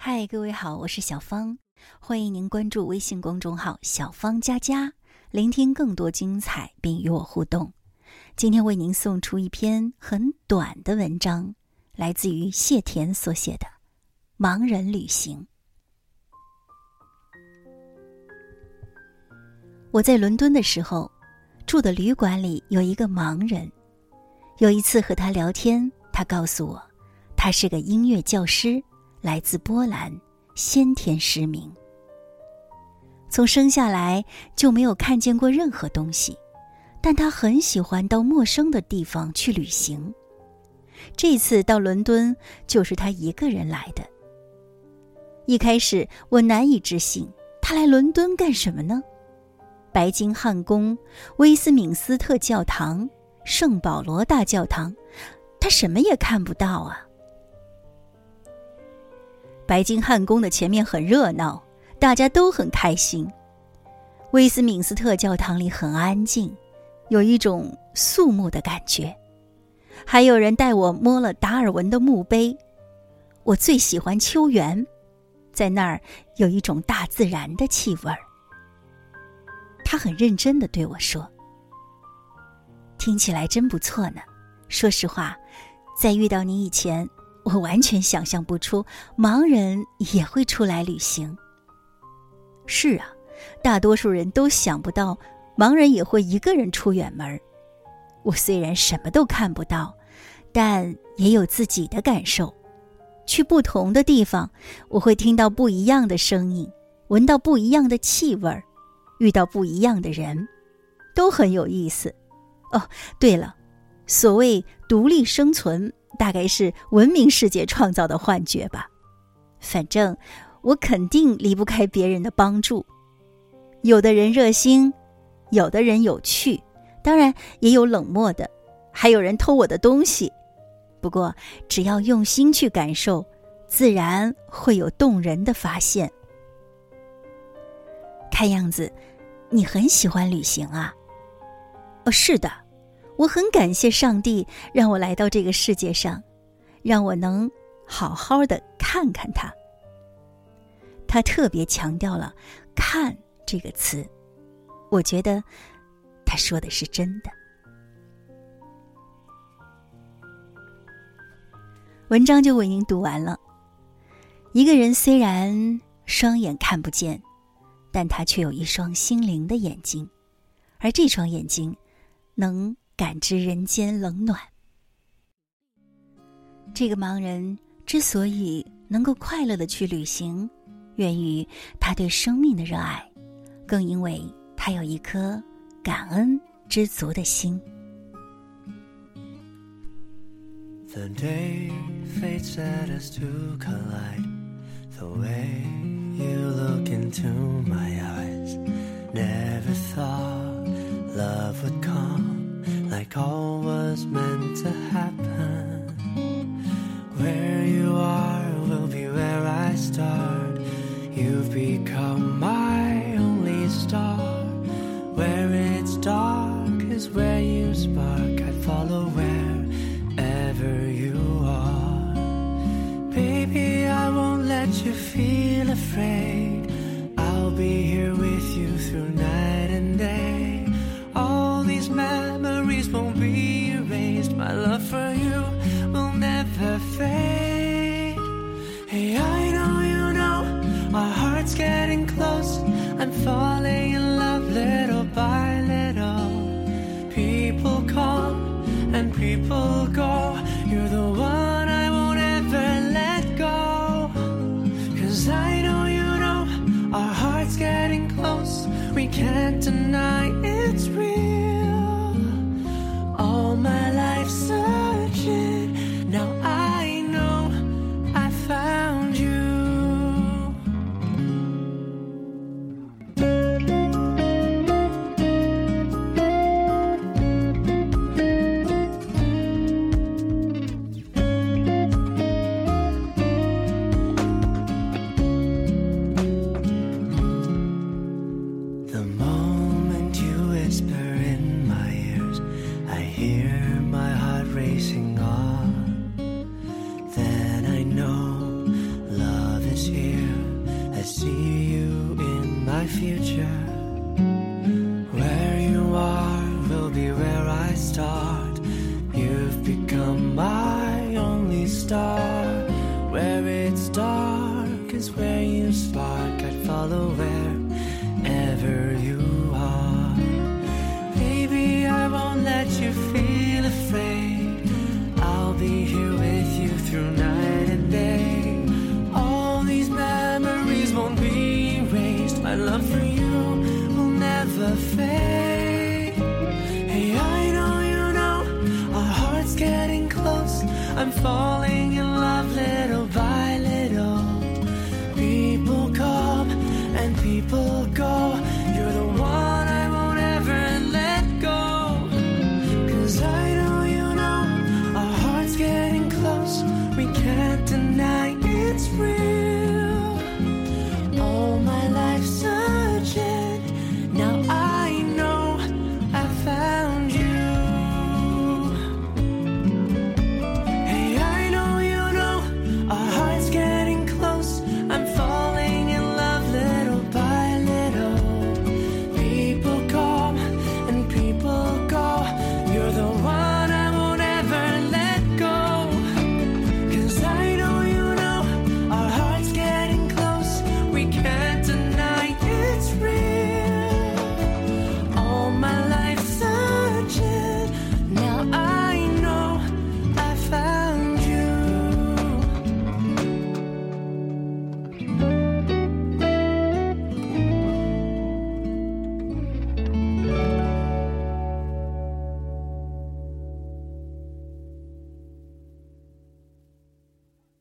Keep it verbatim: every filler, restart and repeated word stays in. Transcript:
嗨，各位好，我是小芳，欢迎您关注微信公众号小芳佳佳，聆听更多精彩并与我互动。今天为您送出一篇很短的文章，来自于谢田所写的《盲人旅行》。我在伦敦的时候，住的旅馆里有一个盲人。有一次和他聊天，他告诉我，他是个音乐教师，来自波兰，先天失明。从生下来就没有看见过任何东西，但他很喜欢到陌生的地方去旅行。这次到伦敦就是他一个人来的。一开始我难以置信，他来伦敦干什么呢？白金汉宫、威斯敏斯特教堂、圣保罗大教堂，他什么也看不到啊。白金汉宫的前面很热闹，大家都很开心。威斯敏斯特教堂里很安静，有一种肃穆的感觉。还有人带我摸了达尔文的墓碑。我最喜欢秋园，在那儿有一种大自然的气味儿。他很认真地对我说，听起来真不错呢。说实话，在遇到你以前，我完全想象不出盲人也会出来旅行。是啊，大多数人都想不到盲人也会一个人出远门。我虽然什么都看不到，但也有自己的感受。去不同的地方，我会听到不一样的声音，闻到不一样的气味，遇到不一样的人，都很有意思。哦，对了，所谓独立生存，大概是文明世界创造的幻觉吧。反正我肯定离不开别人的帮助。有的人热心，有的人有趣，当然也有冷漠的，还有人偷我的东西。不过只要用心去感受，自然会有动人的发现。看样子你很喜欢旅行啊。哦，是的，我很感谢上帝让我来到这个世界上，让我能好好的看看它。他特别强调了看这个词，我觉得他说的是真的。文章就为您读完了。一个人虽然双眼看不见，但他却有一双心灵的眼睛，而这双眼睛能感知人间冷暖。这个盲人之所以能够快乐地去旅行，源于他对生命的热爱，更因为他有一颗感恩知足的心。 The day fate set us to collide, the way you look into my eyes, never thought love would come like all was meant to happen. Where you are will be where I start. You've become my only star. Where it's dark is where you spark. I'd follow wherever you are. Baby, I won't let you feel afraid. I'll be here with you through night and day. All these memories won't be erased. My love for you will never fade. Hey, I know you know our hearts getting close. I'm falling in love little by little. People come and people go. You're the one I won't ever let go. 'Cause I know you know our hearts getting close. We can't deny it's real. All my life searching, now I know I found you. my future. Where you are will be where I start. You've become my only star. Where it's dark is where you spark. I'd follow wherever you are. Baby, I won't let you feel afraid. I'll be here with you through night and day. All these memories won't be erased. My love for you will never fade. Hey, I know you know our hearts getting close. I'm falling